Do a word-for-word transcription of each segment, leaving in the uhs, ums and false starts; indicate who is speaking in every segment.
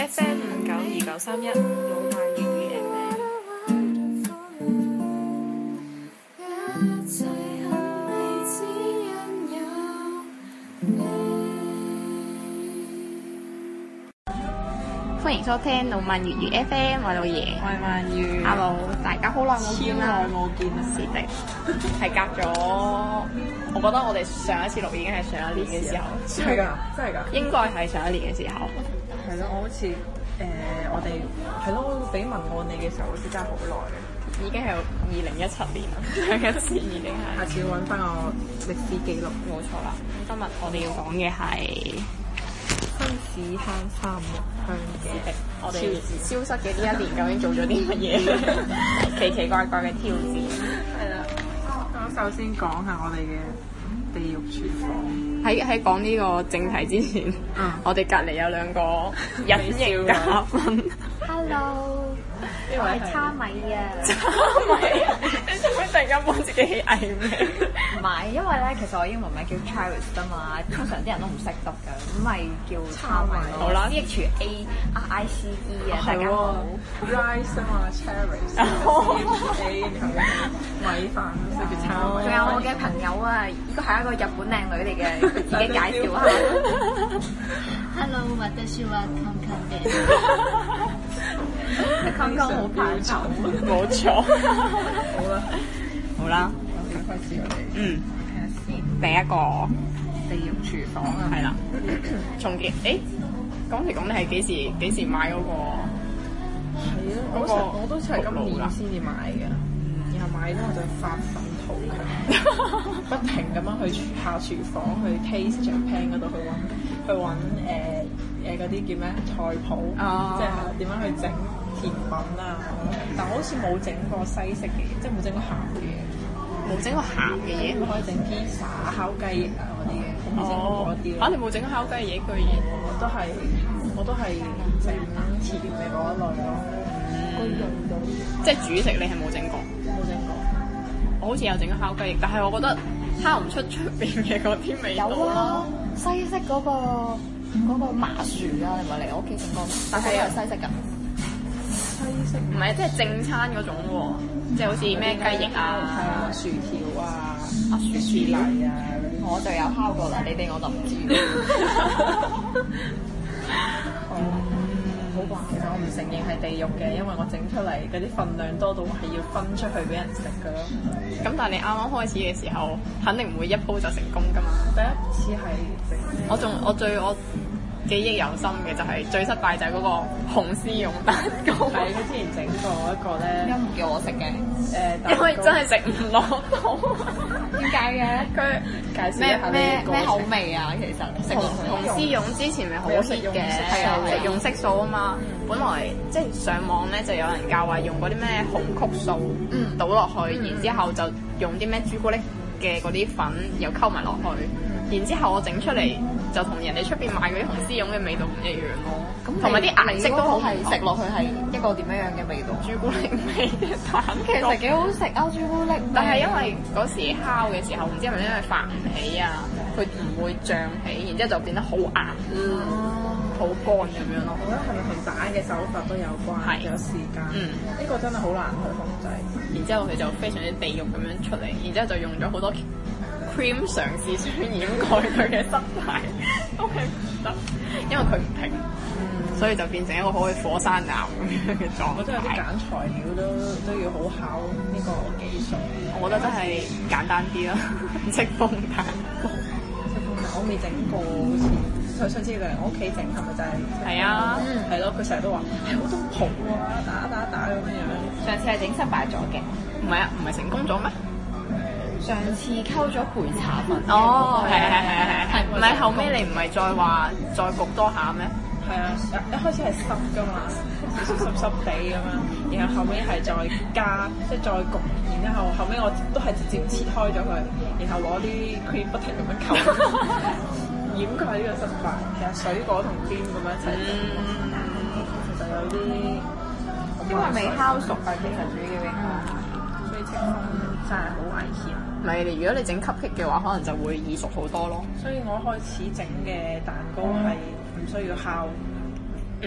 Speaker 1: F M 五九二九三一老萬粵語 F M。歡迎收聽老萬粵語 F M，我係老爺，
Speaker 2: 我係萬語。
Speaker 1: Hello，大家好耐冇見啦，
Speaker 2: 超耐冇見啦，
Speaker 1: 是的，係隔咗，我覺得我哋上一次錄已經係上一年嘅時候，
Speaker 2: 係㗎，真係㗎，
Speaker 1: 應該係上一年嘅時候。
Speaker 2: 係咯，我好似誒、呃，我哋係咯，俾文案你嘅時候，好似真係好耐嘅，
Speaker 1: 已經係二零一七年啦，上一次已經係。
Speaker 2: 下次要揾翻個歷史記錄。
Speaker 1: 冇錯啦，今日我哋要講嘅係
Speaker 2: 新市坑三木香嘅
Speaker 1: 我哋消失嘅呢一年究竟做咗啲乜嘢？奇奇怪怪嘅挑戰。
Speaker 2: 係啦，咁首先講下我哋嘅地獄廚房。
Speaker 1: 喺喺講呢個正題之前，
Speaker 2: 嗯、
Speaker 1: 我哋隔離有兩個隱形嘉賓。
Speaker 3: Hello，我係叉米啊！
Speaker 1: 叉米，你做咩突然間幫自己起藝名？
Speaker 3: 唔係，因為咧，其實我英文名叫 Charis 啊嘛，通常啲人都唔識得㗎，咁咪叫叉米咯。
Speaker 1: 好啦
Speaker 3: ，C H A R I C E 啊，大家好。
Speaker 2: Rice 啊嘛 ，Charis，C H A 然後米飯，所以叫叉米。
Speaker 3: 仲有我嘅朋友啊，呢個係一個日本靚女嚟嘅，佢自己介紹下。Hello，我是話康康嘅。康康好怕醜。
Speaker 1: 冇錯。
Speaker 2: 好啦，
Speaker 1: 好啦，
Speaker 2: 我哋開始我哋
Speaker 1: 嗯，
Speaker 2: 睇下先。
Speaker 1: 第一個
Speaker 2: 地獄廚房啊，
Speaker 1: 係啦，重建。誒，講嚟講你係幾時幾時買嗰個？
Speaker 2: 係啊，我
Speaker 1: 嗰個
Speaker 2: 成我都係今年先至買嘅，然後買咗我就發奮圖強，不停咁樣去下廚房去 taste Japan 嗰度去揾去揾誒誒嗰啲叫咩菜譜，
Speaker 1: 哦
Speaker 2: 即係點樣去整甜品啊，但我好似冇整過西式嘅嘢，即係冇整過鹹嘅嘢，
Speaker 1: 冇整過鹹嘅嘢。
Speaker 2: 可以整 pizza、烤雞翼啊嗰啲嘅，我未整過嗰啲
Speaker 1: 嚇！你冇整烤雞翼居然？
Speaker 2: 我都係我都係整甜嘅嗰一類咯。
Speaker 1: 即係主食你係冇整過？
Speaker 2: 冇整過。
Speaker 1: 我好似有整過烤雞翼，但係我覺得烤唔出出邊嘅嗰啲味道
Speaker 3: 有啊
Speaker 1: 咯。，
Speaker 3: 西式嗰、個嗰、個麻薯啊，你咪嚟我屋企整過，但係係西式㗎。
Speaker 2: 西式
Speaker 1: 唔係，即係正餐嗰種喎，即係好似咩雞翼啊、
Speaker 2: 係啊、薯條啊、
Speaker 1: 啊薯
Speaker 2: 薯泥啊嗰啲。
Speaker 3: 我就有烤過啦，你哋我就唔知。
Speaker 2: 哦，好啩，其實我唔承認係地獄嘅，因為我整出嚟嗰啲份量多到係要分出去俾人食㗎咯。
Speaker 1: 咁但係你啱啱開始嘅時候，肯定唔會一鋪就成功㗎嘛。
Speaker 2: 第一次係整，
Speaker 1: 我仲我最我記憶猶新嘅就係最失敗就係嗰個紅絲絨蛋糕。
Speaker 2: 係佢之前整過一個咧，
Speaker 3: 點解唔叫我食嘅？
Speaker 2: 誒，
Speaker 1: 因為真係食唔落肚。
Speaker 3: 點解嘅？
Speaker 1: 佢
Speaker 2: 介紹一下
Speaker 3: 咩咩
Speaker 2: 呢個
Speaker 3: 咩口味啊？其實食
Speaker 1: 紅
Speaker 3: 落
Speaker 1: 紅絲絨之前咪好 hit 嘅，
Speaker 3: 係啊
Speaker 1: 食用色素啊嘛。本來即係上網咧就有人教話用嗰啲咩紅曲素
Speaker 3: 嗯
Speaker 1: 倒落去，然之後就用啲咩朱古力嘅嗰啲粉又溝埋落去，然之後我整出嚟就同人哋出邊買嗰啲紅絲絨嘅味道唔一樣咯。
Speaker 3: 咁
Speaker 1: 同埋啲顏色都好唔
Speaker 3: 係
Speaker 1: 同
Speaker 3: 食落去係一個點樣樣嘅味道？
Speaker 1: 朱古力味嘅蛋糕，
Speaker 3: 其實幾好食啊，朱古力味。
Speaker 1: 但係因為嗰時烤嘅時候，唔知係咪因為發唔起啊，佢唔會脹起，然之後就變得好硬，好乾咁樣咯。
Speaker 2: 我覺得係咪同蛋嘅手法都有關？
Speaker 1: 係
Speaker 2: 有時間，
Speaker 1: 嗯
Speaker 2: 呢個真係好難去控制。
Speaker 1: 然之後佢就非常之地獄咁樣出嚟，然之後就用咗好多 cream 嘗試想掩蓋佢嘅失敗，都係唔得，因為佢唔平，所以就變成一個好似火山岩咁樣嘅狀
Speaker 2: 我覺得有啲揀
Speaker 1: 態。
Speaker 2: 材料都都要好考呢個技術。
Speaker 1: 我覺得真係簡單啲啦，戚風蛋糕。
Speaker 2: 我未整過，好似佢上次嚟我屋企整係咪就係？
Speaker 1: 係啊，
Speaker 2: 係咯，佢成日都話係好多泡啊，打打打咁樣。
Speaker 3: 上次係整失敗咗嘅，
Speaker 1: 唔係啊，唔係成功咗咩？
Speaker 3: 上次溝咗焙茶粉。
Speaker 1: 哦，係係係係係，唔係後尾
Speaker 3: 尾
Speaker 1: 你唔係再話再焗多下咩？
Speaker 2: 係啊，一開始係濕噶嘛，少少濕濕地咁樣，然後後尾係再加，即係再焗，然之後後尾我都係直接切開咗佢，然後攞啲 cream 不停咁樣溝，掩蓋呢個失敗。其實水果同 cream 咁樣一齊整，其實有啲
Speaker 3: 因為未烤熟啊，其實主要應該。
Speaker 2: 所以戚風真係好危險。
Speaker 1: 唔係，如果你整 cupcake 嘅話，可能就會易熟好多咯。
Speaker 2: 所以我一開始整嘅蛋糕係唔需要烤。
Speaker 1: 嗯，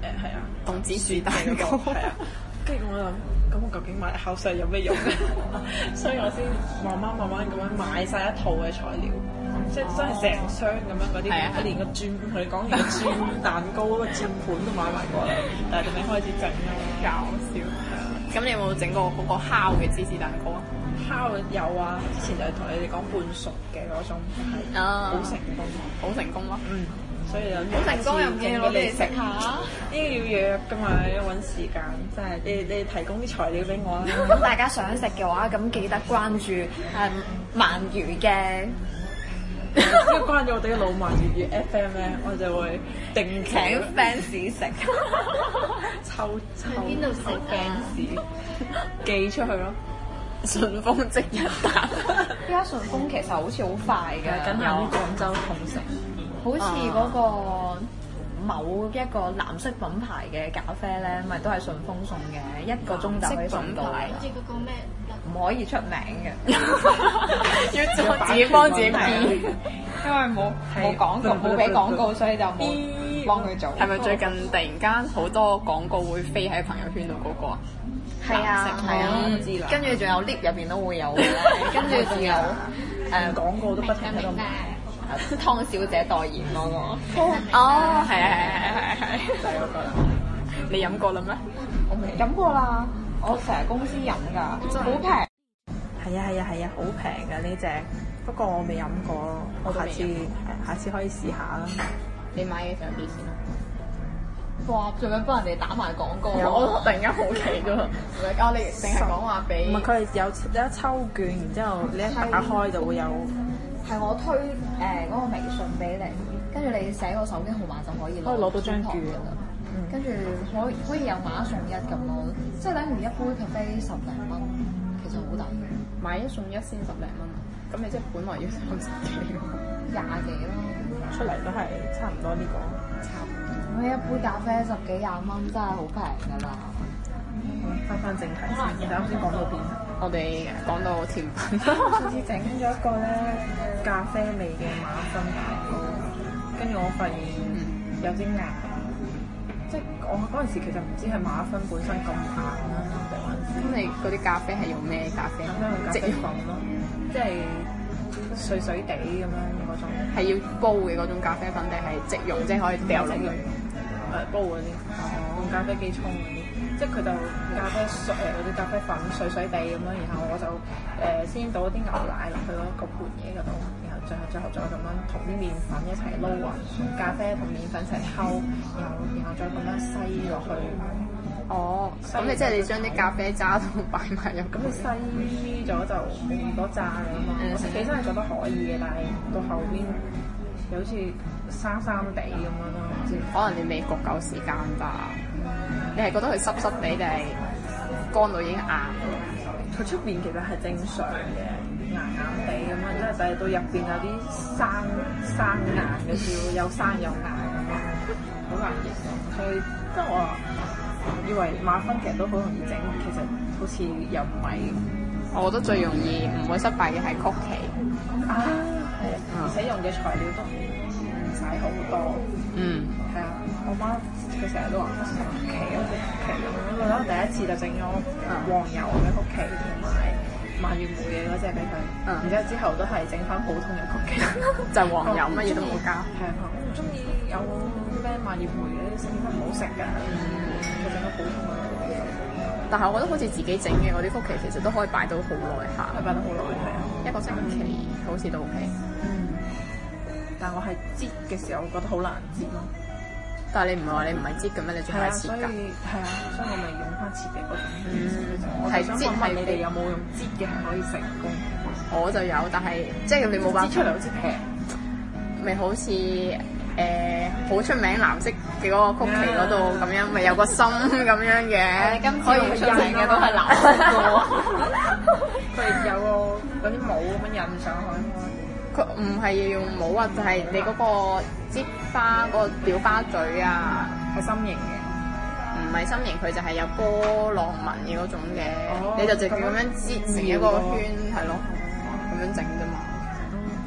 Speaker 2: 係啊，
Speaker 1: 凍芝士蛋糕
Speaker 2: 係啊。跟住我諗，咁我究竟買口水有咩用咧？所以我先慢慢慢慢咁樣買晒一套嘅材料，即係真係成箱咁樣嗰啲，我連個轉同你講連個轉蛋糕嗰個轉盤都買埋過嚟，但係仲未開始整啊！
Speaker 1: 搞笑。咁你有冇整過嗰個烤嘅芝士蛋糕啊？
Speaker 2: 烤有啊，之前就係同你哋講半熟嘅嗰種，係好成功，
Speaker 1: 好成功咯。
Speaker 2: 嗯。所以就
Speaker 1: 好成功又唔見我哋食下，
Speaker 2: 呢個要約㗎嘛，要揾時間，真係你你提供啲材料俾我啦。
Speaker 3: 咁大家想食嘅話，咁記得關注誒鰻魚嘅，
Speaker 2: 只要關注我哋嘅老鰻粵語 F M 咧，我就會定期
Speaker 3: 請 fans 食，
Speaker 2: 抽抽
Speaker 3: 邊度食
Speaker 2: fans 寄出去咯。
Speaker 1: 順豐即日達，
Speaker 3: 依家順豐其實好似好快嘅，
Speaker 2: 緊係啲廣州同城。
Speaker 3: 好似嗰個某一個藍色品牌嘅咖啡咧，咪都係順豐送嘅，一個鐘就可以送到。
Speaker 4: 好似嗰個咩？
Speaker 3: 唔可以出名嘅，
Speaker 1: 要自己幫自己編，
Speaker 3: 因為冇冇廣告，冇俾廣告，所以就冇幫佢做。
Speaker 1: 係咪最近突然間好多廣告會飛喺朋友圈度嗰個啊？
Speaker 3: 係啊，係啊，
Speaker 2: 我知啦。
Speaker 3: 跟住仲有 lift 入邊都會有，跟住仲有誒
Speaker 2: 廣告都不停喺度。
Speaker 3: 湯小姐代言嗰個。
Speaker 1: 哦，係係係係係，就係嗰個啦。你飲過啦咩？
Speaker 3: 我未飲過啦，我成日公司飲㗎，好平。
Speaker 2: 係啊係啊係啊，好平㗎呢隻，不過我未飲過，我下次下次可以試下啦。
Speaker 1: 你買嘅上幾錢啊？
Speaker 3: 哇！做咩幫人哋打埋廣告？
Speaker 1: 我突然間好奇啫喎，我你淨係講話俾
Speaker 2: 唔係佢係有有一抽券，然之後你一打開就會有。
Speaker 3: 係我推誒嗰個微信俾你，跟住你寫個手機號碼就可以
Speaker 2: 可以攞到張券
Speaker 3: 㗎啦。跟住可以可以有買一送一咁咯，即係等於一杯咖啡十零蚊，其實好抵。
Speaker 1: 買一送一先十零蚊，咁你即係本來要三十幾喎，
Speaker 3: 廿幾咯。
Speaker 2: 出嚟都係差唔多呢個。
Speaker 3: 差唔多。咁一杯咖啡十幾廿蚊真係好平㗎啦。
Speaker 2: 翻返正題先，啱先講到邊？
Speaker 1: 我哋講到甜品，
Speaker 2: 上次整咗一個咧咖啡味嘅馬芬蛋糕，跟住我發現有啲硬，即係我嗰陣時其實唔知係馬芬本身咁硬啦，定還是？
Speaker 1: 咁你嗰啲咖啡係用咩咖啡？
Speaker 2: 咁樣用咖啡粉咯，即係碎碎地咁樣嗰種。
Speaker 1: 係要煲嘅嗰種咖啡粉定係即溶，即係可以掉落去？
Speaker 2: 誒煲嗰啲，用咖啡機沖嗰啲。即係佢就咖啡碎誒嗰啲咖啡粉碎碎地咁樣，然後我就誒、呃、先倒啲牛奶落去嗰個盤嘢嗰度，然後最後最後再咁樣同啲麵粉一齊撈勻，咖啡同麵粉一齊溝，然後然後再咁樣篩落去。
Speaker 1: 哦，咁你即係你將啲咖啡渣都擺埋入，
Speaker 2: 咁你篩咗就冇咁多渣㗎嘛。嗯、我食起身係覺得可以嘅，但係到後邊又好似生生地咁樣咯。
Speaker 1: 可能你未焗夠時間吧。你係覺得佢濕濕地定係乾到已經硬？
Speaker 2: 佢出邊其實係正常嘅，硬硬地咁樣，即係但係到入邊有啲生生硬嘅 feel，有生有硬咁樣，好難形容。所以即係我以為馬芬其實都好容易整，其實好似又唔係。
Speaker 1: 我覺得最容易唔會失敗嘅係曲奇。
Speaker 2: 啊，係，而且用嘅材料都唔使好多。
Speaker 1: 嗯，
Speaker 2: 係啊，我媽佢成日都話曲奇啊曲奇咁樣，我覺得第一次就整咗黃油嘅曲奇同埋蔓越莓嘅嗰隻俾佢，
Speaker 1: 嗯、
Speaker 2: 然之後之後都係整翻普通嘅曲奇，
Speaker 1: 就係黃油乜嘢都冇加。
Speaker 2: 係啊，我唔中意有咩蔓越莓嘅，食起身唔好食㗎，就整咗普通嘅。
Speaker 1: 但係我覺得好似自己整嘅嗰啲曲奇其實都可以擺到好耐下，
Speaker 2: 係擺得好耐係啊，
Speaker 1: 一個星期好似都 OK。
Speaker 2: 嗯。但係我係擠嘅時候，我覺得好難擠咯。
Speaker 1: 但係你唔係話你唔係擠嘅咩？你仲係切㗎？
Speaker 2: 係啊，所以我咪用翻切嘅嗰種。
Speaker 1: 嗯，
Speaker 2: 我係想問問你哋有冇用擠嘅係可以成功？
Speaker 1: 我就有，但係即係你冇辦法。
Speaker 2: 擠出嚟好似平，
Speaker 1: 咪好似誒好出名藍色嘅嗰個曲奇嗰度咁樣，咪有個心咁樣嘅。
Speaker 3: 今次好出名嘅都係藍色嘅喎。
Speaker 2: 佢有個嗰啲帽咁樣印上去。
Speaker 1: 佢唔係要用帽啊，就係、是、你嗰個擠花嗰、那個裱花嘴啊，
Speaker 2: 係心形嘅，
Speaker 1: 唔係心形，佢就係有波浪紋嘅嗰種嘅，哦、你就直接咁樣擠成一個圈，係咯，咁樣整啫嘛。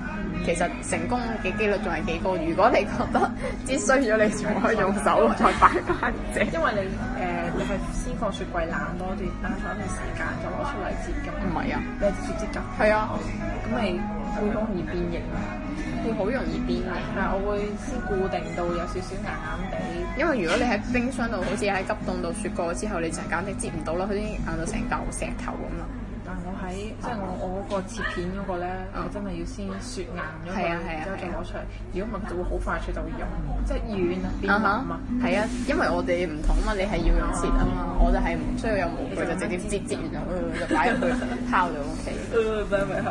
Speaker 1: 其實成功嘅機率仲係幾高。如果你覺得擠衰咗，你仲可以用手再擺翻正。
Speaker 2: 因為你誒、呃、你係先放雪櫃冷多段冷咗一段時間，就攞出嚟摺㗎。
Speaker 1: 唔係啊，
Speaker 2: 你係直接摺㗎？
Speaker 1: 係啊，
Speaker 2: 咁咪會好容易變形啊！
Speaker 1: 會好容易變形。
Speaker 2: 但係我會先固定到有少少硬硬地。
Speaker 1: 因為如果你喺冰箱度，好似喺急凍度雪過之後，你就簡直擠唔到啦，佢已經硬到成嚿石頭咁啦。
Speaker 2: 但係我喺即係我我嗰個切片嗰個咧，
Speaker 1: 嗯、
Speaker 2: 我真係要先雪硬咗佢，
Speaker 1: 係啊係啊
Speaker 2: 然之後再攞出嚟。如果唔係，佢就會好快脆就會溶，即係軟啊變腍啊。
Speaker 1: 係啊，因為我哋唔同啊嘛，你係要用切啊嘛，我就係唔需要有模具，就直接擠擠完就就擺入去烤就 O K。
Speaker 2: 誒，擺咪好。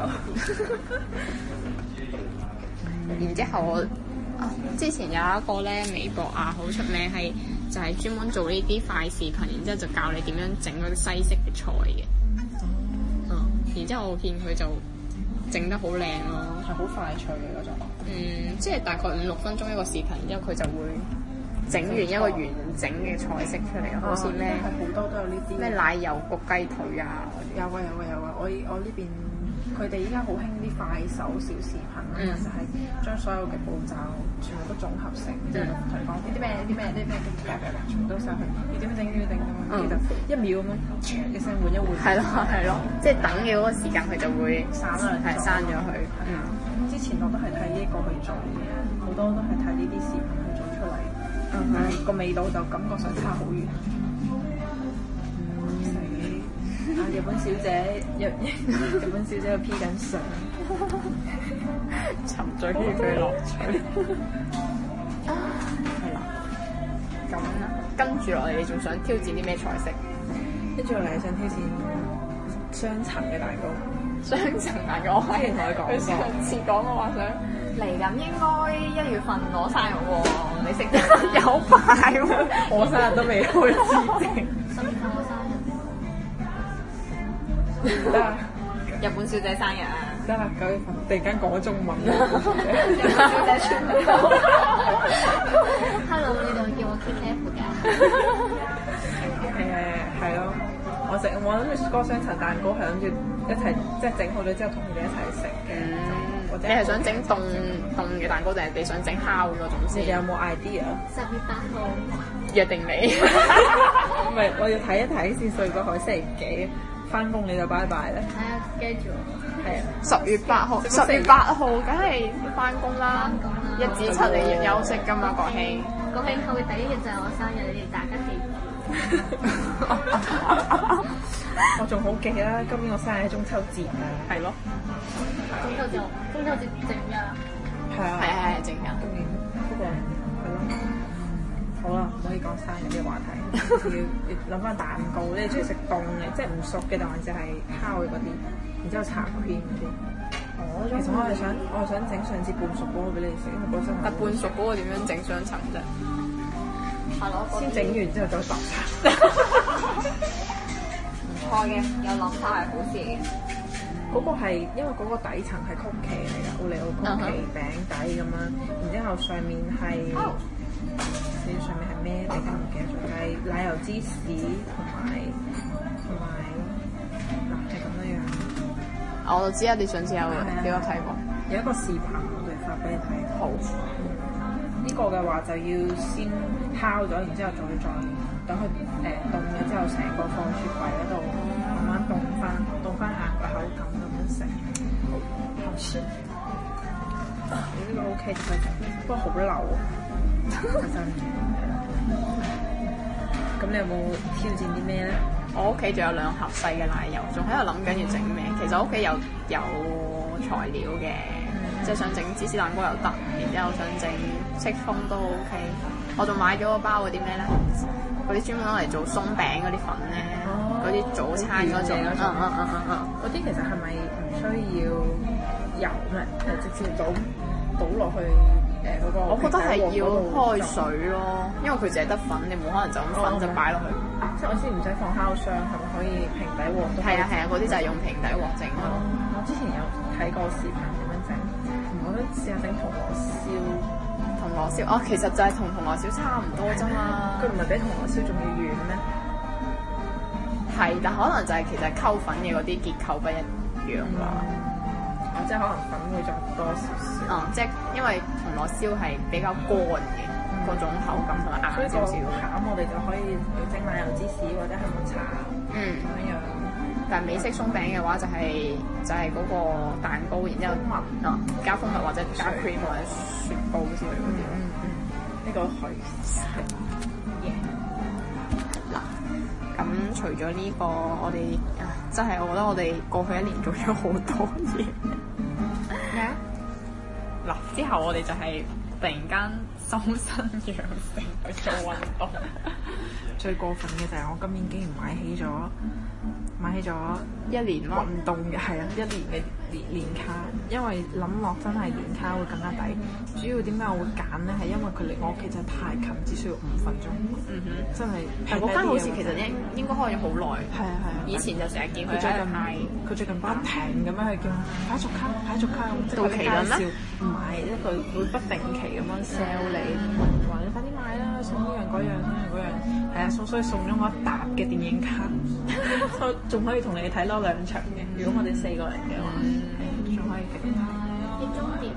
Speaker 1: 然之後我啊，之前有一個咧微博啊，好出名係就係專門做呢啲快視頻，然之後就教你點樣整嗰啲西式嘅菜嘅。嗯，然之後我見佢就整得好靚咯，
Speaker 2: 係好快脆嘅嗰種。
Speaker 1: 嗯，即係大概五六分鐘一個視頻，然之後佢就會整完一個完整嘅菜式出嚟，好似咩
Speaker 2: 係好多都有呢啲
Speaker 1: 咩奶油焗雞腿啊，
Speaker 2: 有啊有啊有啊！我我呢邊佢哋依家好興啲快手小視頻啊，
Speaker 1: 嗯、
Speaker 2: 就係將所有嘅步驟全部都綜合成，即係同你講啲咩啲咩啲咩嘅全部都晒去，要點樣整點樣整咁樣，跟住就一秒咁樣嘅聲換一換。係
Speaker 1: 咯係咯，即係等嘅嗰個時間佢就會
Speaker 2: 散啦，
Speaker 1: 係刪咗佢。嗯，
Speaker 2: 之前我都係睇呢一個去做嘅，好多都係睇呢啲視頻去做出嚟，但係個味道就感覺上差好遠。啊！日本小姐，日日本小姐喺度 P 緊相，
Speaker 1: 沉醉於佢樂趣。係啦，咁啦，跟住落嚟，你仲想挑戰啲咩菜式？
Speaker 2: 跟住落嚟想挑戰雙層嘅蛋糕。
Speaker 1: 雙層蛋糕，我之前同佢講過，佢上次講嘅話想
Speaker 3: 嚟緊應該一月份攞生日喎，你識得
Speaker 1: 有排喎，
Speaker 2: 我生日都未開始整。
Speaker 3: 十月份我生日。
Speaker 2: 得
Speaker 3: 日本小姐生日啊！
Speaker 2: 得啦，九月份突然間講中文啦，
Speaker 3: 日本小姐全部都。Hello，你度叫我 K K F 㗎？
Speaker 2: 誒係咯，我食我諗住嗰個雙層蛋糕係諗住一齊即係整好咗之後同佢哋一齊食嘅。
Speaker 1: 嗯，你係想整凍凍嘅蛋糕定係你想整烤嗰種先？
Speaker 2: 你有冇 idea？
Speaker 3: 十月八號
Speaker 1: 約定你。
Speaker 2: 唔係，我要睇一睇先，所以嗰個星期幾？翻工你就拜拜啦。
Speaker 3: 係啊，記住。
Speaker 2: 係啊，
Speaker 1: 十月八號，十月八號梗係翻工啦。
Speaker 3: 翻工啦。
Speaker 1: 一至七你要休息㗎嘛，國慶。
Speaker 3: 國慶後嘅第一日就係我生日，你哋大家記住。
Speaker 2: 我仲好記啦，今年我生日係中秋節啊。
Speaker 1: 係咯。
Speaker 3: 中秋節，中秋節正日。
Speaker 2: 係啊。
Speaker 1: 係係係正日。
Speaker 2: 今年不過係咯。好啦，唔可以講生日呢個話題，要要諗翻蛋糕。你哋中意食凍嘅，即係唔熟嘅，定還是係烤嘅嗰啲，然之後搽 cream 嗰啲。哦，其實我係想，我係想整上次半熟嗰個俾你食，因為嗰陣。
Speaker 1: 但半熟嗰個點樣整雙層啫？
Speaker 3: 係咯，
Speaker 2: 先整完之後再搭茶。
Speaker 3: 唔錯嘅，有諗法係好事嘅。
Speaker 2: 嗰個係因為嗰個底層係曲奇嚟㗎，奧利奧曲奇餅底咁樣，然之後上面係。你上面係咩？大家唔記得咗，係奶油芝士同埋同埋嗱係咁樣樣。
Speaker 1: 我就知啊，你上次有俾我睇過，
Speaker 2: 有一個視頻我哋發俾你睇。
Speaker 1: 好。
Speaker 2: 呢個嘅話就要先烤咗，然之後再再等佢誒凍咗之後，成個放雪櫃嗰度慢慢凍翻，凍翻硬個口感咁樣食。好食。你呢個 OK 就可以食，不過好流啊！真咁你有冇挑戰啲咩咧？
Speaker 1: 我屋企仲有兩盒細嘅奶油，仲喺度諗緊要整咩。其實我屋企有有材料嘅，嗯、即係想整芝士蛋糕又得，然之後想整戚風都 OK。我仲買咗個包嗰啲咩咧？嗰啲專門攞嚟做鬆餅嗰啲粉咧，嗰啲、哦、早餐嗰種。嗯嗯嗯嗯嗯。
Speaker 2: 嗰啲其實係咪唔需要油咩？誒，直接倒倒落去。誒嗰個，
Speaker 1: 我覺得係要開水咯，因為佢淨係得粉，你冇可能就咁粉就擺落去。
Speaker 2: 即係我知唔使放烤箱，係咪可以平底鑊？
Speaker 1: 係啊係啊，嗰啲就係用平底鑊整咯。
Speaker 2: 我之前有睇過視頻點樣整，我都試下整銅鑼燒。
Speaker 1: 銅鑼燒哦，其實就係同銅鑼燒差唔多啫嘛。
Speaker 2: 佢唔係比銅鑼燒仲要軟咩？係，
Speaker 1: 但可能就係其實溝粉嘅嗰啲結構不一樣啦。
Speaker 2: 即係可能粉會再多少少。
Speaker 1: 嗯，即係因為銅鑼燒係比較乾嘅嗰、嗯、種口感同埋硬少少。
Speaker 2: 餡我哋就可以整奶油芝士或者係抹茶，
Speaker 1: 嗯
Speaker 2: 咁樣。
Speaker 1: 但係美式鬆餅嘅話就係、是、就係、是、嗰個蛋糕，然之後啊加蜂蜜或者加 cream 或者雪糕之類嗰啲。
Speaker 2: 嗯嗯，呢、這個可以食。
Speaker 1: 嗱，咁除咗呢、這個，我哋啊真係我覺得我哋過去一年做咗好多嘢。咩啊？嗱，之後我哋就係突然間修身養性去做運動。
Speaker 2: 最過分嘅就係我今年竟然買起咗買起咗
Speaker 1: 一年
Speaker 2: 運動嘅，係啊，一年嘅年年卡，因為諗落真係年卡會更加抵。主要點解我會揀咧？係因為佢離我屋企真係太近，只需要五分鐘。嗯哼，真係。
Speaker 1: 但嗰間好似其實應應該開咗好耐。係啊係啊。以前就成日見佢
Speaker 2: 最近賣，佢最近不停咁樣去叫快續卡，快續卡，即係佢介紹買一個會不定期咁樣 sell 你，話你快啲買啦，送呢樣嗰樣呢樣嗰樣，係啊，所以送咗我一沓嘅電影卡，仲可以同你睇多兩場嘅。如果我哋四個人嘅話，仲可以幾多？
Speaker 3: 你終點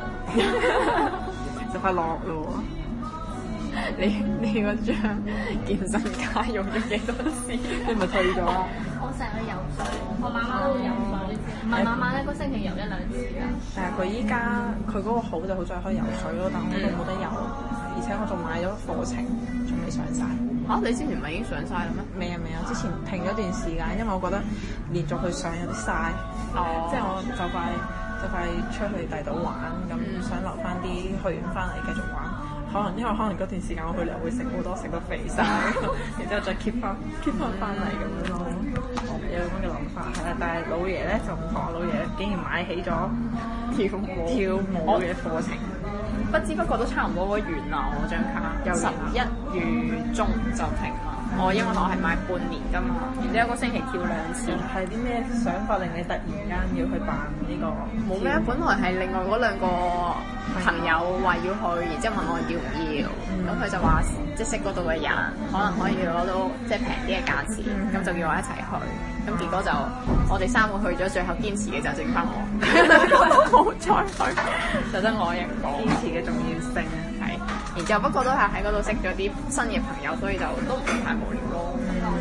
Speaker 2: 就快落咯喎！
Speaker 1: 你你嗰張健身卡用咗幾多次？
Speaker 2: 你咪退咗啦！
Speaker 3: 我成日去游水，我晚晚都會游水，唔係晚晚一個星期游一兩次㗎。
Speaker 2: 但係佢依家佢嗰個好就好在可以游水咯，但我都冇得游，而且我仲買咗課程，仲未上晒。
Speaker 1: 嚇、啊！你之前唔係已經上晒啦咩？
Speaker 2: 未啊未啊，之前停咗段時間，因為我覺得連續去上有啲嘥。哦。即係我就快就快出去第度玩，咁、嗯、想留翻啲去完翻嚟繼續玩。可能因為可能嗰段時間我去旅遊會食好多，食到肥晒，然之後再 keep 翻 keep 翻翻嚟咁樣咯。有咁嘅諗法係啦，但係老爺咧就唔同，老爺竟然買起咗跳舞跳舞嘅課程，
Speaker 1: 不知不覺都差唔多完啦。我張卡十一月中就停啦。我、嗯、因為我係買半年㗎嘛，然之後一個星期跳兩次。
Speaker 2: 係啲咩想法令你突然間要去辦呢、呢個？
Speaker 1: 冇咩，本來係另外嗰兩個朋友話要去，然之後問我要唔要，咁佢、嗯、就話即係識嗰度嘅人，可能可以攞到即係平啲嘅價錢，咁、嗯、就叫我一齊去。咁結果就我哋三個去咗，最後堅持嘅就剩翻我，冇再去，就得我一個。
Speaker 2: 堅持嘅重要性
Speaker 1: 係，然之後不過都係喺嗰度識咗啲新嘅朋友，所以就都唔太無聊咯。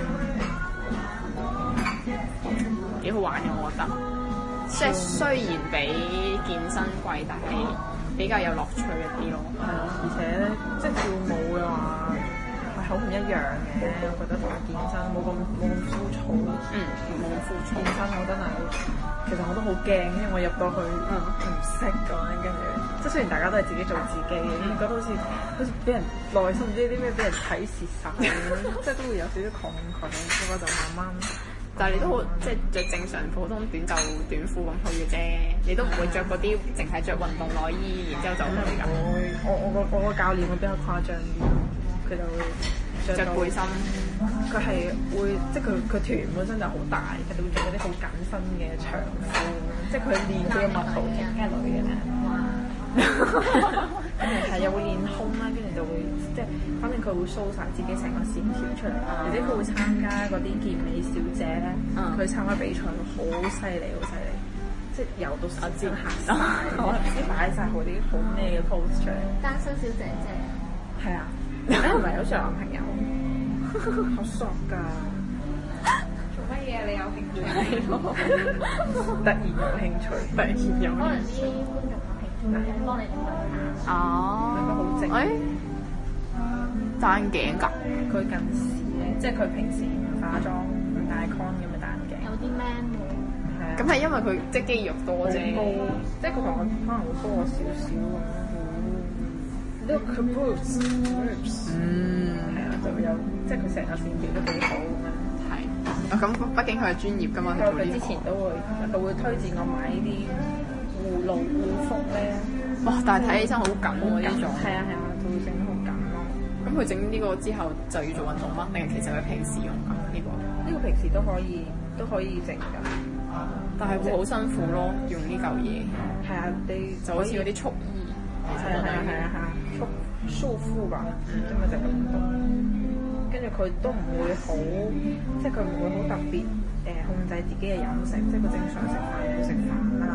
Speaker 1: 幾好玩嘅我覺得，即係雖然比健身貴，但係比較有樂趣一啲咯。
Speaker 2: 係啊，而且咧，即係跳舞嘅話係好唔一樣嘅，我覺得同健身冇咁冇咁枯燥。
Speaker 1: 嗯，冇咁枯燥。
Speaker 2: 健身我真係，其實我都好驚，因為我入到去唔識咁樣，跟住即係雖然大家都係自己做自己，嗯、覺得好似好似俾人內心唔知啲咩俾人睇蝕晒咁樣，即係都會有少少抗拒，不過就慢慢。
Speaker 1: 但係你都好，即係着正常普通短袖短褲咁去嘅啫，你都唔會着嗰啲淨係着運動內衣，然之後就去㗎。
Speaker 2: 我我個我個教練會比較誇張啲，佢就會着
Speaker 1: 背心。
Speaker 2: 佢係會即係佢佢團本身就好大，佢哋會着嗰啲好緊身嘅長褲，即係佢練佢嘅 muscle，梗係女嘅啦。跟住係又會練胸啦，跟住就會即係，反正佢會 show 晒自己成個線條出嚟，而且佢會參加嗰啲健美小姐咧，佢、嗯、參加比賽好犀利，好犀利，即係游到手尖行晒，我唔知擺晒好啲好咩嘅 pose 出嚟。
Speaker 3: 單身小姐姐
Speaker 2: 係啊，你唔係好似有男朋友，好索㗎。做乜嘢？你有興趣？突然有興趣，突然有興趣。
Speaker 3: 可能啲觀眾。幫你點樣
Speaker 1: 哦，
Speaker 2: 佢好正。誒，
Speaker 1: 戴眼鏡㗎？
Speaker 2: 佢近視咧，即係佢平時唔化妝、唔戴 con 咁嘅戴眼鏡。
Speaker 3: 有啲 man 喎。
Speaker 2: 係啊。
Speaker 1: 咁係因為佢即係肌肉多啫。
Speaker 2: 高，即係佢同我可能會高我少少咁。呢個佢 boobs，嗯，係啊，就有，即係佢成個線條都幾好咁樣。係。
Speaker 1: 咁畢竟佢係專業㗎嘛，佢做呢個。
Speaker 2: 佢之前都會，佢會推薦我買呢啲。護露護膚咧，
Speaker 1: 哇！但係睇起身好緊喎呢種。
Speaker 2: 係啊係啊，就會整得好緊咯。
Speaker 1: 咁佢整呢個之後就要做運動嗎？定係其實佢平時用㗎呢個？
Speaker 2: 呢個平時都可以都可以整㗎。
Speaker 1: 但係會好辛苦咯，用呢嚿嘢。係啊，你就好似嗰啲束衣。
Speaker 2: 係啊係啊係啊係啊，束束膚吧，咁咪就咁多。跟住佢都唔會好，即係佢唔會好特別誒控制自己嘅飲食，即係佢正常食飯會食飯啦。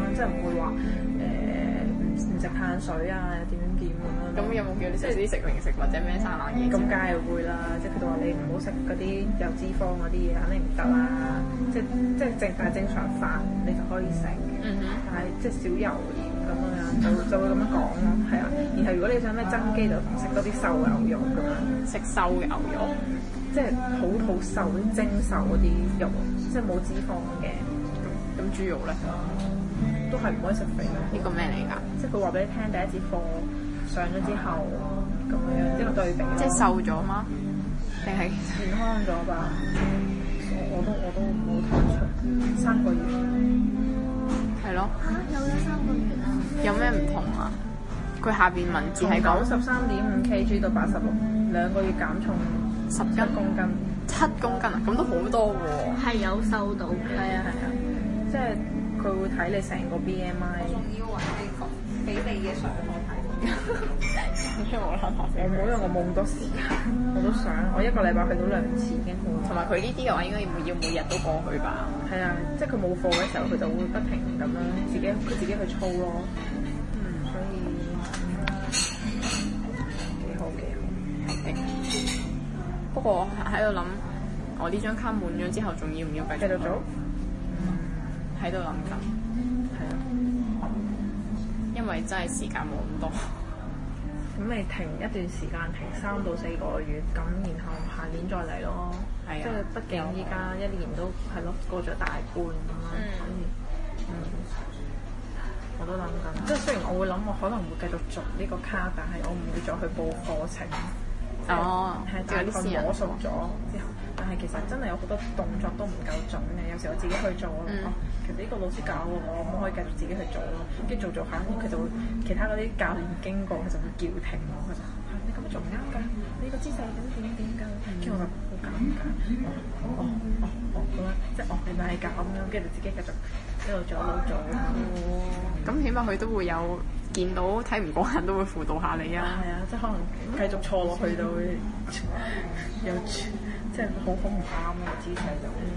Speaker 2: 即係唔會話誒唔唔食碳水啊，點點點咁樣。
Speaker 1: 咁有冇叫你食啲食零食或者咩生冷嘢？
Speaker 2: 咁梗係會啦，即係佢哋話你唔好食嗰啲有脂肪嗰啲嘢，肯定唔得啦。即係即係正但係正常飯你就可以食，
Speaker 1: 嗯哼，
Speaker 2: 但係即係少油鹽咁樣就就會咁樣講咯，係啊。然後如果你想咩增肌就食多啲瘦牛肉咁樣，
Speaker 1: 食瘦牛肉，
Speaker 2: 即係好好瘦啲精瘦嗰啲肉，即係冇脂肪嘅。
Speaker 1: 咁豬肉咧
Speaker 2: 都係唔可以食肥咯。
Speaker 1: 呢個咩嚟㗎？
Speaker 2: 即係佢話俾你聽，第一節課上咗之後咁樣一個對比咯。
Speaker 1: 即係瘦咗嗎？定係
Speaker 2: 健康咗吧？我我都我都冇睇出三個月。
Speaker 1: 係咯？
Speaker 3: 嚇有咗三個月啊！
Speaker 1: 有咩唔同啊？佢下邊文字係講
Speaker 2: 九十三點五 kg 到八十六，兩個月減重
Speaker 1: 十
Speaker 2: 七公斤。
Speaker 1: 七公斤啊！咁都好多喎。
Speaker 3: 係有瘦到嘅。
Speaker 2: 係啊係啊，即係佢會睇你成個 B M I。
Speaker 3: 要揾你講俾你嘅相我睇。
Speaker 1: 因為我諗下
Speaker 2: 我冇，因為我冇咁多時間，我都想，我一個禮拜去到兩次已經好。
Speaker 1: 同埋佢呢啲嘅話，應該要要每日都過去吧？
Speaker 2: 係啊，即係佢冇課嘅時候，佢就會不停咁樣自己佢自己去操咯。嗯，所以幾好幾好。
Speaker 1: 係的。不過喺度諗，我呢張卡滿咗之後，仲要唔要繼續
Speaker 2: 繼續做？嗯，
Speaker 1: 喺度諗緊，
Speaker 2: 係啊。
Speaker 1: 因為真係時間冇咁多。
Speaker 2: 咁你停一段時間，停三到四個月，咁然後下年再嚟咯。
Speaker 1: 係啊，
Speaker 2: 即係畢竟依家一年都係咯過咗大半咁樣，所以嗯，我都諗緊。即係雖然我會諗我可能會繼續續呢個卡，但係我唔會再去報課程。
Speaker 1: 哦，
Speaker 2: 係大概摸熟咗之後，但係其實真係有好多動作都唔夠準嘅。有時我自己去做咯，
Speaker 1: 嗯、
Speaker 2: 哦，其實呢個老師教我，我可唔可以繼續自己去做咯？跟住做做下，佢就會其他嗰啲教練經過，佢就會叫停我，佢就係你咁樣做唔啱㗎，你個姿勢點點點㗎，跟住我就好尷尬，哦哦哦哦咁樣，即係哦原來係咁樣，跟住自己繼續一路做一路做。
Speaker 1: 咁起碼佢都會有。見到睇唔慣都會輔導下你啊！
Speaker 2: 係啊，即係可能繼續錯落去就會有即係好好唔啱嘅姿勢就會。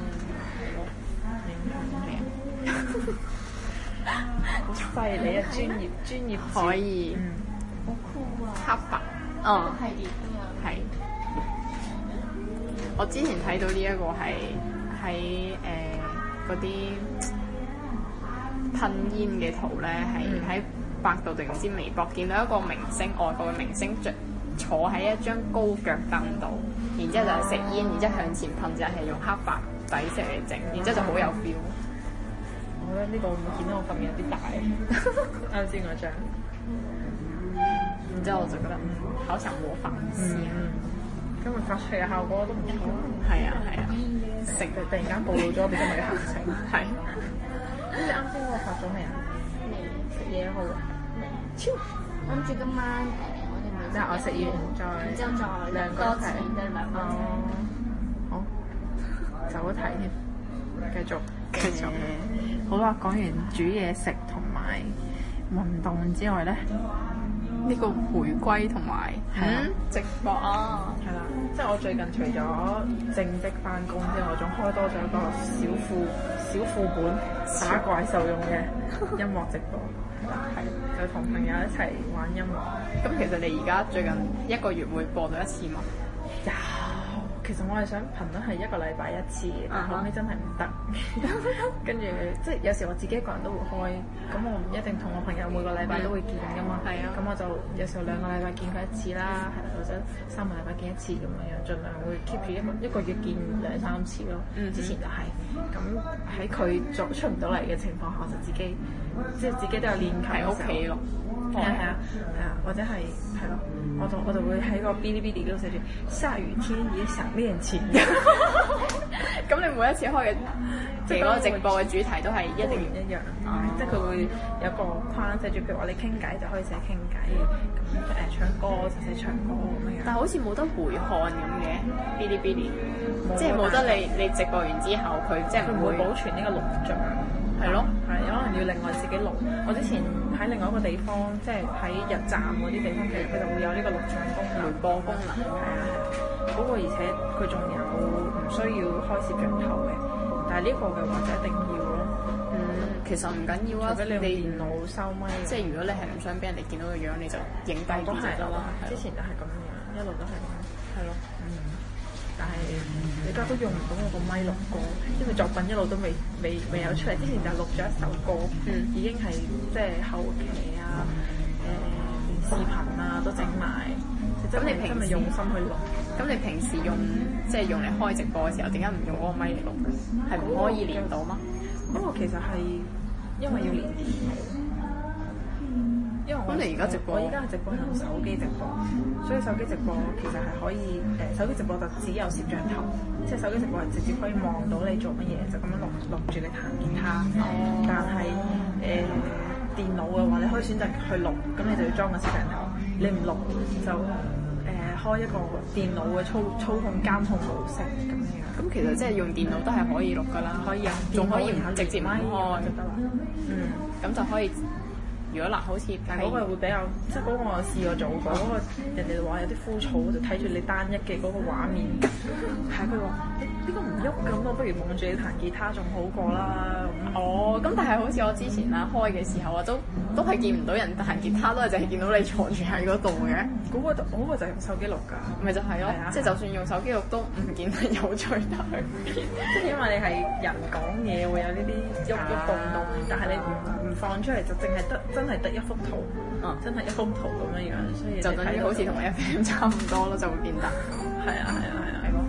Speaker 2: 嗯，好犀利啊！專業專業
Speaker 1: 可以。
Speaker 3: 嗯，好酷啊！
Speaker 1: 黑白。哦。
Speaker 3: 系列都有。
Speaker 1: 係。我之前睇到呢一個係喺誒嗰啲噴煙嘅圖咧，係喺。百度定唔知微博見到一個明星，外國嘅明星着坐喺一張高腳凳度，然之後就係食煙，然之後向前噴，就係用黑白底色嚟整，然之後就好有 feel。
Speaker 2: 我覺得呢個會顯得我份面有啲大，啱先嗰張。
Speaker 1: 然之後我就覺得嗯，好想模仿一下。
Speaker 2: 嗯，今日發出嚟嘅效果都唔錯。
Speaker 1: 係啊係啊，
Speaker 2: 食突然間暴露咗俾今日嘅行程。
Speaker 1: 係。
Speaker 2: 咁你啱先嗰個發咗未啊？未食嘢好。超
Speaker 3: 諗住今晚誒，我哋咪
Speaker 2: 即係我食完再，
Speaker 3: 然之後再
Speaker 2: 兩個一齊，
Speaker 3: 即係兩個一齊。
Speaker 2: 好，走一題添，繼續繼續。好啦，講完煮嘢食同埋運動之外咧，
Speaker 1: 呢個回歸同埋
Speaker 2: 嗯
Speaker 1: 直播啊，
Speaker 2: 係啦，即係我最近除咗正職翻工之外，我仲開多咗一個小副小副本打怪獸用嘅音樂直播。係，就同朋友一齊玩音樂。
Speaker 1: 咁其實你而家最近一個月會播到一次嗎？
Speaker 2: 有，其實我係想頻率係一個禮拜一次，但後尾真係唔得。跟住即係有時我自己一個人都會開，咁我唔一定同我朋友每個禮拜都會見噶嘛。係啊。咁我就有時候兩個禮拜見佢一次啦，係或者三個禮拜見一次咁樣樣，盡量會 keep 住一個一個月見兩三次咯。嗯。之前就係、是、咁，喺佢作出唔到嚟嘅情況下，我就自己。即係自己都有練琴喺屋企咯，係啊係啊係啊，或者係係咯，我就我就會喺個 Bilibili 嗰度寫住下雨天也想練琴。
Speaker 1: 咁你每一次開嘅即係嗰個直播嘅主題都係一定
Speaker 2: 一樣，即係佢會有個框寫住，譬如話你傾偈就可以寫傾偈，咁誒唱歌就寫唱歌咁樣。
Speaker 1: 但係好似冇得回看咁嘅 Bilibili，即係冇得你你直播完之後佢即係唔會
Speaker 2: 保存呢個錄像。係咯，係可能要另外自己錄。我之前喺另外一個地方，即係喺日站嗰啲地方，其實佢就會有呢個錄像功能、回播功能。係啊係啊，嗰個而且佢仲有唔需要開攝像頭嘅，但係呢個嘅話就一定要咯。嗯。
Speaker 1: 其實唔緊要啊，
Speaker 2: 除非你用電腦收咪，
Speaker 1: 即係如果你係唔想俾人哋見到個樣，你就影低啲就得啦。
Speaker 2: 之前就係咁樣，一路都係咁。
Speaker 1: 係咯，
Speaker 2: 嗯。但係你而家都用唔到我個咪錄歌，因為作品一路都未未未有出嚟。之前就錄咗一首歌，
Speaker 1: 嗯、
Speaker 2: 已經係即係後期啊，誒、呃、連視頻啊都整埋。
Speaker 1: 咁你平時
Speaker 2: 用心去錄？
Speaker 1: 咁你平時用即係用嚟開直播嘅時候，點解唔用嗰個咪嚟錄？係唔可以連到嗎？
Speaker 2: 嗰個其實係因為要連電腦，因為我
Speaker 1: 咁你而家直播，
Speaker 2: 我而家係直播用手機直播，所以手機直播其實係可以誒，手機直播就只有攝像頭，即係手機直播係直接可以望到你做乜嘢，就咁樣錄錄住你彈吉他。哦、但係誒、呃、電腦嘅話，你可以選擇去錄，咁你就要裝個攝像頭，你唔錄就誒、呃、開一個電腦嘅操操控監控模式咁樣。
Speaker 1: 咁其實即係用電腦都係可以錄噶啦，
Speaker 2: 可以啊，
Speaker 1: 仲可以唔直接唔開
Speaker 2: 就得啦。嗯，
Speaker 1: 咁就可以。如果嗱，好似
Speaker 2: 但係嗰個會比較，即係嗰個我試過做過，嗰、嗰個人哋話有啲枯燥，就睇住你單一嘅嗰個畫面。係佢話呢個唔喐咁，我不如望住你彈吉他仲好過啦。
Speaker 1: 哦，咁但係好似我之前啦開嘅時候啊，都都係見唔到人彈吉他，都係淨係見到你坐住喺嗰度嘅。
Speaker 2: 嗰、嗰個嗰、嗰個就係用手機錄㗎，
Speaker 1: 咪就係咯，啊、即係就算用手機錄都唔見得有趣得去邊。
Speaker 2: 即係因為你係人講嘢會有呢啲喐喐動動，但係你唔唔放出嚟就淨係得真係得一幅圖，啊、真係一幅圖咁樣樣，所以
Speaker 1: 就等於好似同 F M 差唔多咯，就會變得。
Speaker 2: 係啊係啊係啊，係咯。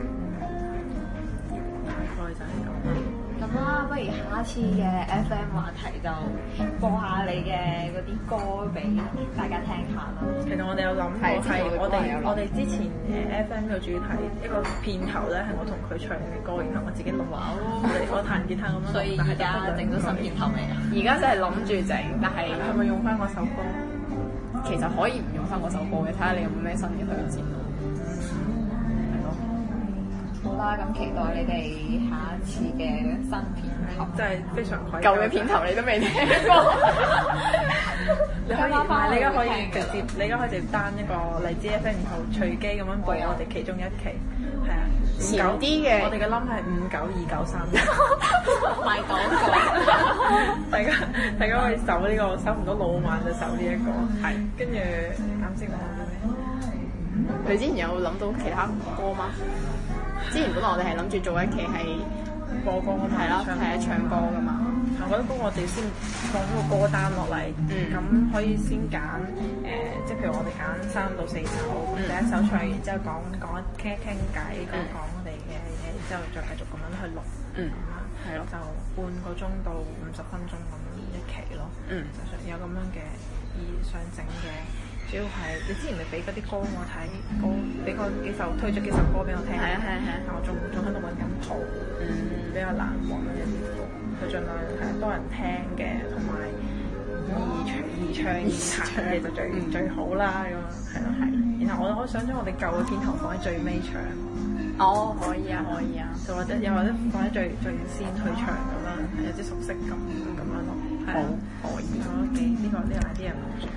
Speaker 2: 大概就係咁啦。
Speaker 3: 咁啦，不如下一次嘅 F M 話題就播下你嘅嗰啲歌俾大家聽下咯。
Speaker 2: 其實我哋有諗過係我哋我哋之前誒 F M 嘅主題一個片頭咧係我同佢唱嘅歌，然後我自己錄話我我彈吉他咁樣。
Speaker 3: 所以而家整咗新片頭未啊？
Speaker 1: 而家真係諗住整，但係
Speaker 2: 係咪用翻嗰首歌？
Speaker 1: 其實可以唔用翻嗰首歌嘅，睇下你有冇咩新嘅推薦咯。係咯。
Speaker 3: 好啦，咁期待你哋下一次嘅新片頭。
Speaker 2: 真係非常愧疚。
Speaker 1: 舊嘅片頭你都未聽過。
Speaker 2: 你可以，唔係你而家可以直接，你而家可以直接單一個荔枝 F M，然後隨機咁樣播我哋其中一期，係啊，
Speaker 1: 前啲嘅，
Speaker 2: 我哋嘅 number 係五九二九三。
Speaker 3: 賣廣告。
Speaker 2: 大家大家可以搜呢個，搜唔到老萬就搜呢一個，係。跟住啱先講咗咩？
Speaker 1: 你之前有諗到其他歌嗎？之前本來我哋係諗住做一期係
Speaker 2: 播歌㗎嘛，
Speaker 1: 係啦，係啊，唱歌㗎嘛。
Speaker 2: 我覺得幫我哋先放咗個歌單落嚟，咁、嗯、可以先揀誒、呃，即係譬如我哋揀三到四首，嗯、第一首唱完之後講講傾傾偈，講講我哋嘅嘢，然之後再繼續咁樣去錄，
Speaker 1: 嗯，係咯，
Speaker 2: 就半個鐘到五十分鐘咁一期咯，嗯，就想有咁樣嘅意想整嘅。主要係你之前咪俾嗰啲歌我睇，歌俾嗰幾首推咗幾首歌俾我聽，
Speaker 1: 係啊係啊係啊，
Speaker 2: 但我仲仲喺度揾緊譜，嗯，比較難揾一啲歌，佢盡量係多人聽嘅，同埋易唱易唱易彈嘅就最最好啦咁啊，係咯係。然後我我想將我哋舊嘅片頭放喺最尾唱，
Speaker 1: 哦可以啊可以啊，
Speaker 2: 就或者又或者放喺最最先去唱咁樣，係有啲熟悉感咁樣咯，係啊可以，我覺得幾呢個呢個 idea 唔錯。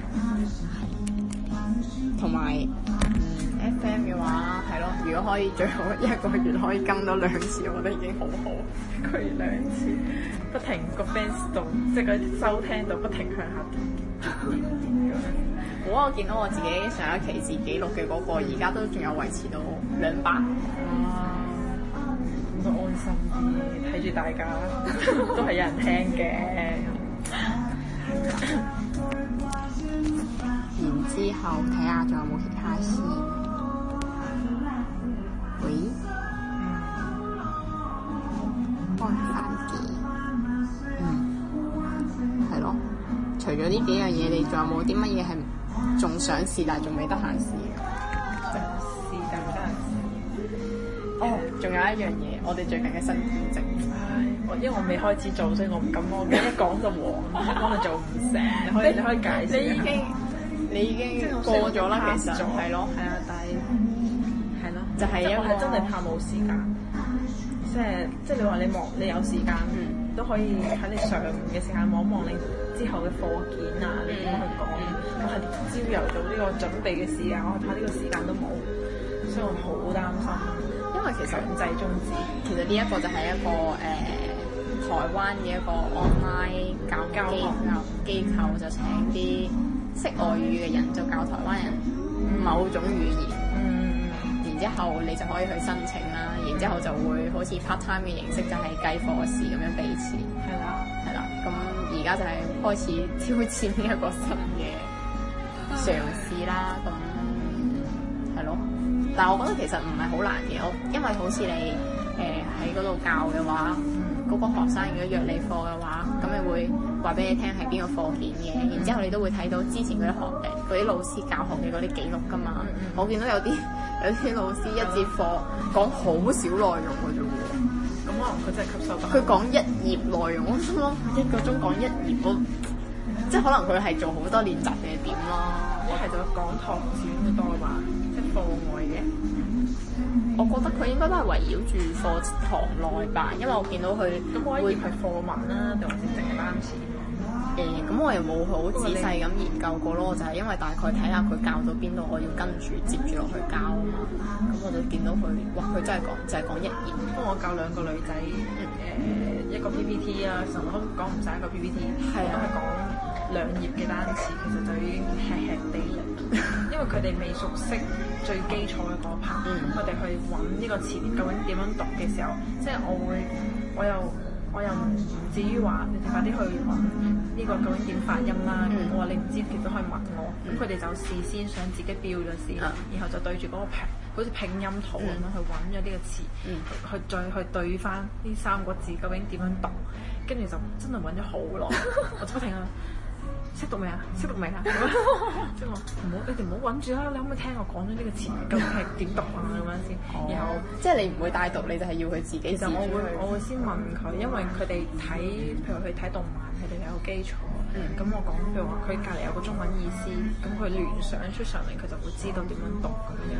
Speaker 2: 同埋，
Speaker 1: 嗯 F M 嘅話係咯，如果可以最好一個月可以更到兩次，我覺得已經好好。
Speaker 2: 一個月兩次，不停個 fans 度，即係嗰收聽度不停向下跌。
Speaker 1: 好啊！我見到我自己上一期自己錄嘅嗰個，而家都仲有維持到兩百。
Speaker 2: 哇！咁都安心啲，睇住大家都係有人聽嘅。
Speaker 1: 然之後睇下仲有冇其他先。喂？開飯嘅。嗯。係咯。除咗呢幾樣嘢，你仲有冇啲乜嘢係仲想試但係仲未得閒試嘅？
Speaker 2: 試但係得閒試。
Speaker 1: 哦，仲有一樣嘢，我哋最近嘅新編輯。
Speaker 2: 唉，我因為我未開始做，所以我唔敢講。一講就黃，一講就做唔成。你可以你可以解釋。
Speaker 1: 你已經。你已經過咗啦，其實係咯，係啊，但係係咯，就係因為
Speaker 2: 係真係怕冇時間，即係即係你話你望你有時間，都可以喺你上嘅時間望一望你之後嘅課件啊，你點樣去講？我係朝由早呢個準備嘅時間，我怕呢個時間都冇，所以我好擔心。
Speaker 1: 因為其實
Speaker 2: 強制中止，
Speaker 1: 其實呢一個就係一個誒。 台灣嘅一個 online 教
Speaker 2: 教學
Speaker 1: 機構機構就請啲識外語嘅人就教台灣人某種語言，
Speaker 2: 嗯，
Speaker 1: 然之後你就可以去申請啦，然之後就會好似 part time 嘅形式，就係計課時咁樣俾錢，
Speaker 2: 係啦，
Speaker 1: 係啦。咁而家就係開始挑戰呢一個新嘅嘗試啦，咁係咯。但係我覺得其實唔係好難嘅，我因為好似你誒喺嗰度教嘅話，嗰、個學生如果約你課嘅話，咁你會話俾你聽係邊個課件嘅，然之後你都會睇到之前嗰啲學誒嗰啲老師教學嘅嗰啲記錄㗎嘛。
Speaker 2: 嗯嗯
Speaker 1: 我見到有啲有啲老師一節課講好少內容嘅啫喎，
Speaker 2: 咁可能佢真係吸收到。
Speaker 1: 佢講一頁內容，我心諗一個鐘講一頁，我即係可能佢係做好多練習嘅點咯。
Speaker 2: 一係就講堂少好多吧，即係課外嘅。
Speaker 1: 我覺得佢應該都係圍繞住課堂內吧，因為我見到佢
Speaker 2: 咁我一頁係課文啦，定還是淨係單詞？
Speaker 1: 誒，咁、我又冇好仔細咁研究過咯，就係、因為大概睇下佢教到邊度，我要跟住接住落去教啊嘛。咁我就見到佢，哇！佢真係講就係、講一頁。
Speaker 2: 因為我教兩個女仔，誒、一個 P P T 啦，成日都講唔晒一個 P P T，
Speaker 1: 係啊
Speaker 2: 我都係講兩頁嘅單詞，其實就已經吃吃地啦。因為佢哋未熟悉最基礎嘅嗰 part，
Speaker 1: 嗯
Speaker 2: 佢哋去揾呢個詞典究竟點樣讀嘅時候，即係我會，我又我又唔至於話你哋快啲去揾呢個究竟點發音啦。
Speaker 1: 嗯
Speaker 2: 我話你唔知，其實都可以問我。咁佢哋就事先想自己標咗先，
Speaker 1: 嗯
Speaker 2: 然後就對住嗰個拼，好似拼音圖咁樣去揾咗呢個詞，
Speaker 1: 嗯
Speaker 2: 去再去對翻呢三個字究竟點樣讀，跟住就真係揾咗好耐，我就不停啊！識讀未啊？識讀未啊？即係話唔好，你哋唔好揾住啦！你可唔可以聽我講咗呢個詞究竟係點讀啊？咁樣先，然後
Speaker 1: 即係你唔會帶讀，你就係要佢自己
Speaker 2: 其實我會我
Speaker 1: 會
Speaker 2: 會先問佢，因為佢哋睇，譬如佢睇動漫，佢哋有個基礎。
Speaker 1: 嗯
Speaker 2: 咁我講譬如話，佢隔離有個中文意思，咁佢聯想出上嚟，佢就會知道點樣讀咁樣。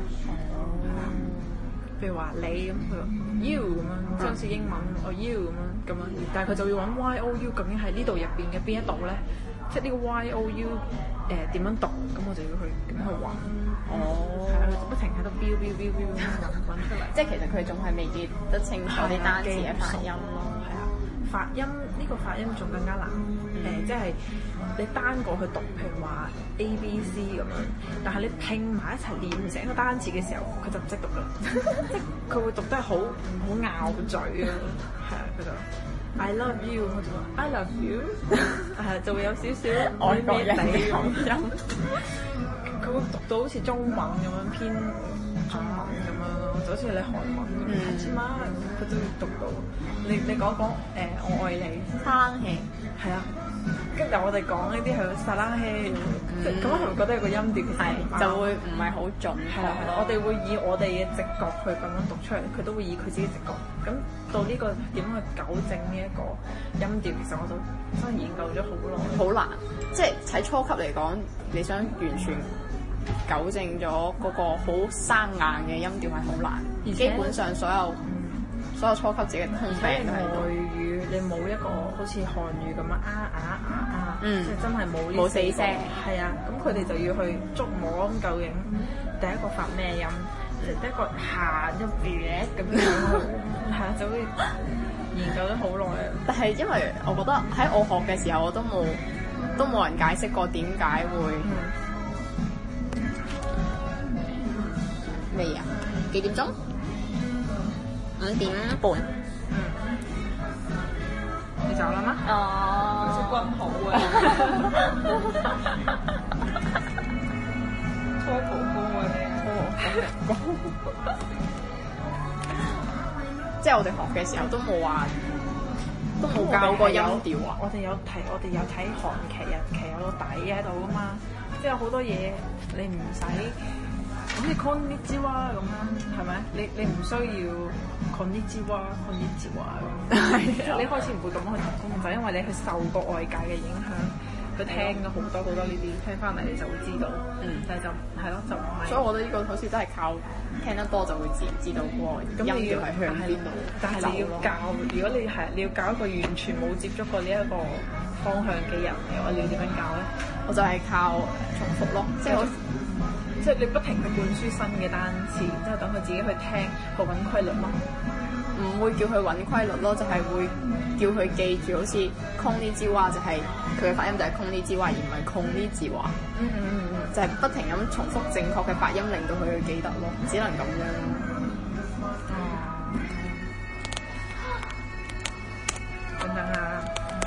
Speaker 2: 譬如話你咁，佢話 you 咁樣，即係好似英文我 you 咁樣咁樣，但係佢就要揾 y o u 究竟喺呢度入邊嘅邊一度咧？即係呢個 y o u 誒點樣讀？咁我就要去咁去揾。
Speaker 1: 哦，
Speaker 2: 係啊，佢就不停喺度標標標標咁揾揾出嚟。
Speaker 1: 即係其實佢仲係未記得清楚啲單詞嘅發音咯。
Speaker 2: 係啊，發音呢、這個發音仲更加難。誒、
Speaker 1: 嗯，
Speaker 2: 即係你單個去讀，譬如話 A B C 咁樣，但係你拼埋一齊練成一個單詞嘅時候，佢就唔識讀啦。即係佢會讀得好好拗嘴啊。係啊，佢就 I love you，我就話 I love you，係就會有少少
Speaker 1: 外國人嘅口
Speaker 2: 音。佢會讀到好似中文咁樣偏中文咁樣咯，就好似你韓文咁樣，知嘛？佢都會讀到。你你講講誒，我愛你，
Speaker 1: 生氣
Speaker 2: 係啊。跟住我哋講呢啲係撒冷氣，即係咁樣係咪覺得有個音調其實
Speaker 1: 係
Speaker 2: 唔啱
Speaker 1: 就會唔係好準
Speaker 2: 係啦係啦，我哋會以我哋嘅直覺去咁樣讀出嚟，佢都會以佢自己直覺。咁到呢個點去糾正呢一個音調，其實我就真係研究咗好耐。
Speaker 1: 好難，即係喺初級嚟講，你想完全糾正咗嗰個好生硬嘅音調係好難，
Speaker 2: 而且
Speaker 1: 基本上所有所有初級自己嘅通病
Speaker 2: 而且
Speaker 1: 都喺度。
Speaker 2: 外語你冇一個好似韓語咁樣啊啊啊啊，
Speaker 1: 嗯
Speaker 2: 即係真係冇呢
Speaker 1: 冇死聲。
Speaker 2: 係啊，咁佢哋就要去捉摸咁究竟第一個發咩音，第一個下一別咁樣，係啊，就會研究咗好耐啊。
Speaker 1: 但係因為我覺得喺我學嘅時候，我都冇都冇人解釋過點解會咩啊？幾點鐘？五點半。
Speaker 2: 嗯，你走啦嗎？
Speaker 1: 哦，
Speaker 2: 好軍好啊！初蒲公嗰啲，
Speaker 1: 即係我哋學嘅時候都冇話，都冇教過音調啊。
Speaker 2: 我哋有睇，我哋有睇韓劇、日劇有個底喺度噶嘛，即係有好多嘢你唔使。好似 Konnichiwa 咁啦，係咪？你你唔需要 Konnichiwa Konnichiwa 咁。你開始唔會咁樣去提供，就因為你去受過外界嘅影響，佢聽咗好多好多呢啲，聽翻嚟你就會知道。嗯，但係就係咯，就唔係。
Speaker 1: 所以我覺得呢個好似真係靠聽得多就會自然知道嗰個音調係向邊度。
Speaker 2: 但係你要教，如果你係你要教一個完全冇接觸過呢一個方向嘅人嘅話，你要點樣教咧？
Speaker 1: 我就係靠重複咯，即係我。
Speaker 2: 即係你不停去灌輸新嘅單詞，然之後等佢自己去聽個揾規律咯。
Speaker 1: 唔會叫佢揾規律咯，就係、是、會叫佢記住，好似空呢之話就係佢嘅發音就係空呢之話，而唔係空呢字話。
Speaker 2: 嗯嗯嗯嗯，
Speaker 1: 就係不停咁重複正確嘅發音，令到佢去記得咯，只能咁樣。
Speaker 2: 等等啊！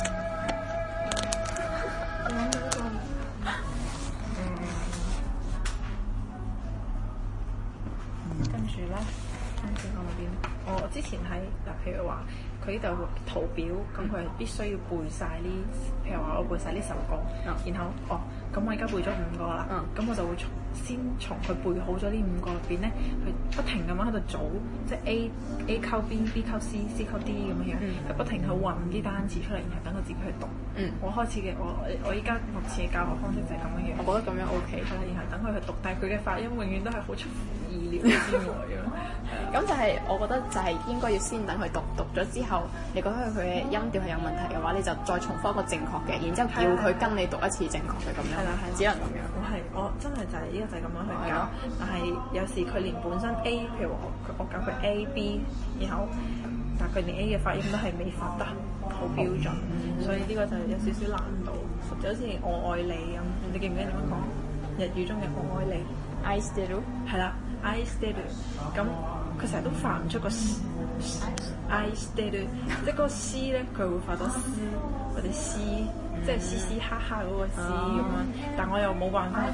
Speaker 2: 跟住咧，跟住講到邊？我之前喺嗱，譬如話佢呢度圖表，咁佢係必須要背晒呢，譬如話我背晒呢首歌，
Speaker 1: 嗯、
Speaker 2: 然後哦，咁我而家背咗五個啦，咁、嗯、我就會從先從佢背好咗呢五個入邊咧，去不停咁樣喺度組，即係 A A 溝 B，B 溝 C，C 溝 D 咁樣樣，佢、嗯、不停去揾啲單詞出嚟，然後等佢自己去讀。嗯，我開始嘅我我依家目前嘅教學方式就係咁樣樣。我覺得咁樣 OK。係啦，然後等佢去讀，但係佢嘅發音永遠都係好出乎意料之外啊。
Speaker 1: 咁就係我覺得就係應該要先等佢讀，讀咗之後，你覺得佢嘅音調係有問題嘅話，你就再重複一個正確嘅，然之後叫佢跟你讀一次正確嘅咁樣。係啦，係只能咁樣。我係我真係就係呢個就係咁樣去教，但係有時佢連本身 A，譬如話我我教佢 A B， 然後但係佢連 A 嘅發音都係未發得好標準，嗯、所以呢個就有少少難度。就好似我愛你咁，你記唔記得點樣講？日語中嘅我愛你 ，I still do，
Speaker 2: 係啦 ，I still do。咁佢成日都發唔出個 I still do， 即係嗰個 C 咧，佢會發到 C 或者 C， 即係嘻嘻哈哈嗰個 C 咁樣。但我又冇辦法。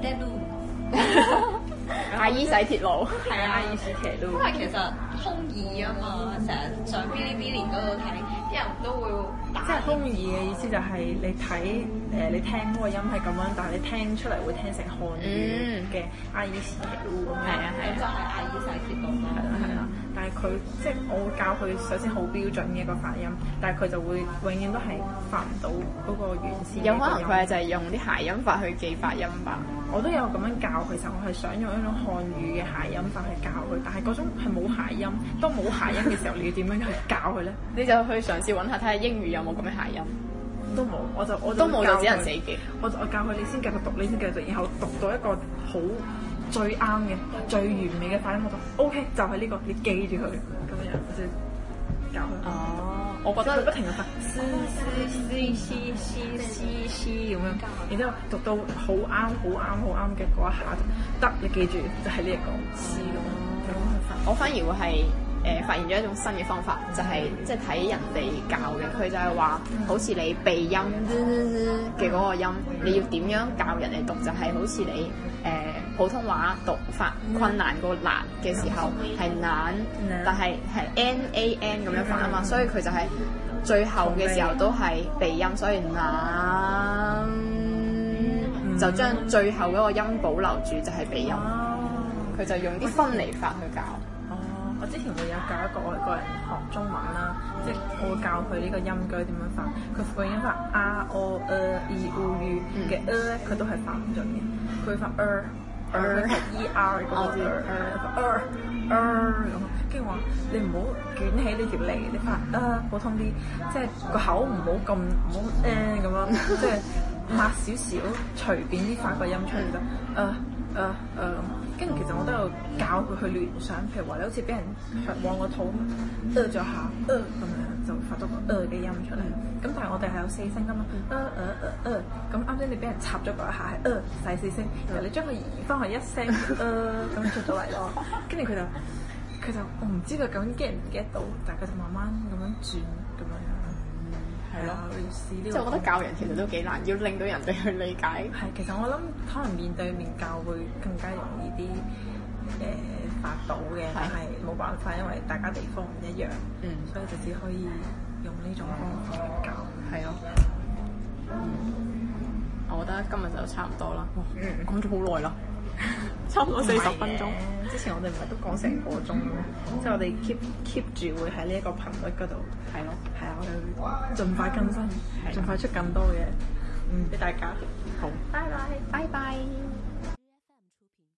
Speaker 1: 阿姨洗鐵路，
Speaker 2: 係啊，阿姨洗鐵路。
Speaker 3: 因為其實空耳啊嘛，成日上 Bilibili 嗰度睇，啲人都會打。
Speaker 2: 即係空耳嘅意思就係你睇誒，你聽嗰個音係咁樣，但係你聽出嚟會聽成漢語嘅阿姨洗鐵路咁樣。係啊係啊，
Speaker 3: 就係阿姨洗鐵路咯。
Speaker 2: 係啦係啦，但係佢即係我會教佢首先好標準嘅一個發音，但係佢就會永遠都係發唔到嗰個原先。
Speaker 1: 有可能佢係就係用啲諧音法去記發音吧。
Speaker 2: 我都有咁樣教佢，其實我係想用一種漢語嘅諧音法去教佢，但係嗰種係冇諧音。當冇諧音嘅時候，你要點樣去教佢咧？
Speaker 1: 你就去嘗試揾下睇下英語有冇咁嘅諧音。
Speaker 2: 都冇，我就我就
Speaker 1: 都冇就只能死記。
Speaker 2: 我就我教佢，你先繼續讀，你先繼續讀，然後讀到一個好最啱嘅、最完美嘅發音，我就 OK，就係呢個，你記住佢咁樣，我就教佢。哦，
Speaker 1: 我覺得
Speaker 2: 不停咁發 C C C C C C C 咁樣，然之後讀到好啱、好啱、好啱嘅嗰一下就得，你記住就係呢一個 C 咁樣去發。
Speaker 1: 我反而會係。誒、呃、發現咗一種新嘅方法，就係、是、即係睇人哋教嘅，佢就係話，好似你鼻音嘅嗰個音，你要點樣教人哋讀？就係、是、好似你誒、呃、普通話讀法困難個難嘅時候係難，但係係 n a n 咁樣發啊嘛，所以佢就係最後嘅時候都係鼻音，所以難就將最後嗰個音保留住，就係鼻音。佢就用啲分離法去教。
Speaker 2: 我之前會有教一個外國人學中文啦，即係我會教佢呢個音句點樣發，佢個音發 r o e i u u 嘅 e 咧，佢都係發唔準嘅，佢會發 er er 係 e r 嗰個 er er 咁，跟住話你唔好捲起呢條脷，你發 er 普通啲，即係個口唔好咁唔好誒咁樣，即係抹少少，隨便啲發個音出嚟就 er er er 咁。跟住其實我都有教佢去聯想，譬如話你好似俾人往個肚呃咗下，呃咁樣就發到個呃嘅音出嚟。咁但係我哋係有四聲噶嘛，呃呃呃呃。咁啱先你俾人插咗嗰一下係呃細四聲，然後你將佢移翻去一聲呃咁出咗嚟咯。跟住佢就佢就我唔知佢究竟 get 唔 get 到，但係佢就慢慢咁樣轉咁樣樣。係咯，要試呢個。即係我覺得教人其實都幾難，要令到人哋去理解。係，其實我諗可能面對面教會更加容易啲誒、呃、發到嘅，但係冇辦法，因為大家地方唔一樣，嗯，所以就只可以用呢種方法去教。係咯。嗯，
Speaker 1: 我覺得今日就差唔多啦。哇，嗯，講咗好耐啦。差唔多四十分鐘。
Speaker 2: 之前我哋唔係都講成個鐘咩？即係我哋 keep keep 住會喺呢一個頻率嗰度。係咯。係啊，我哋會盡快更新，盡快出更多嘅，嗯，俾大家。好。拜拜，拜拜。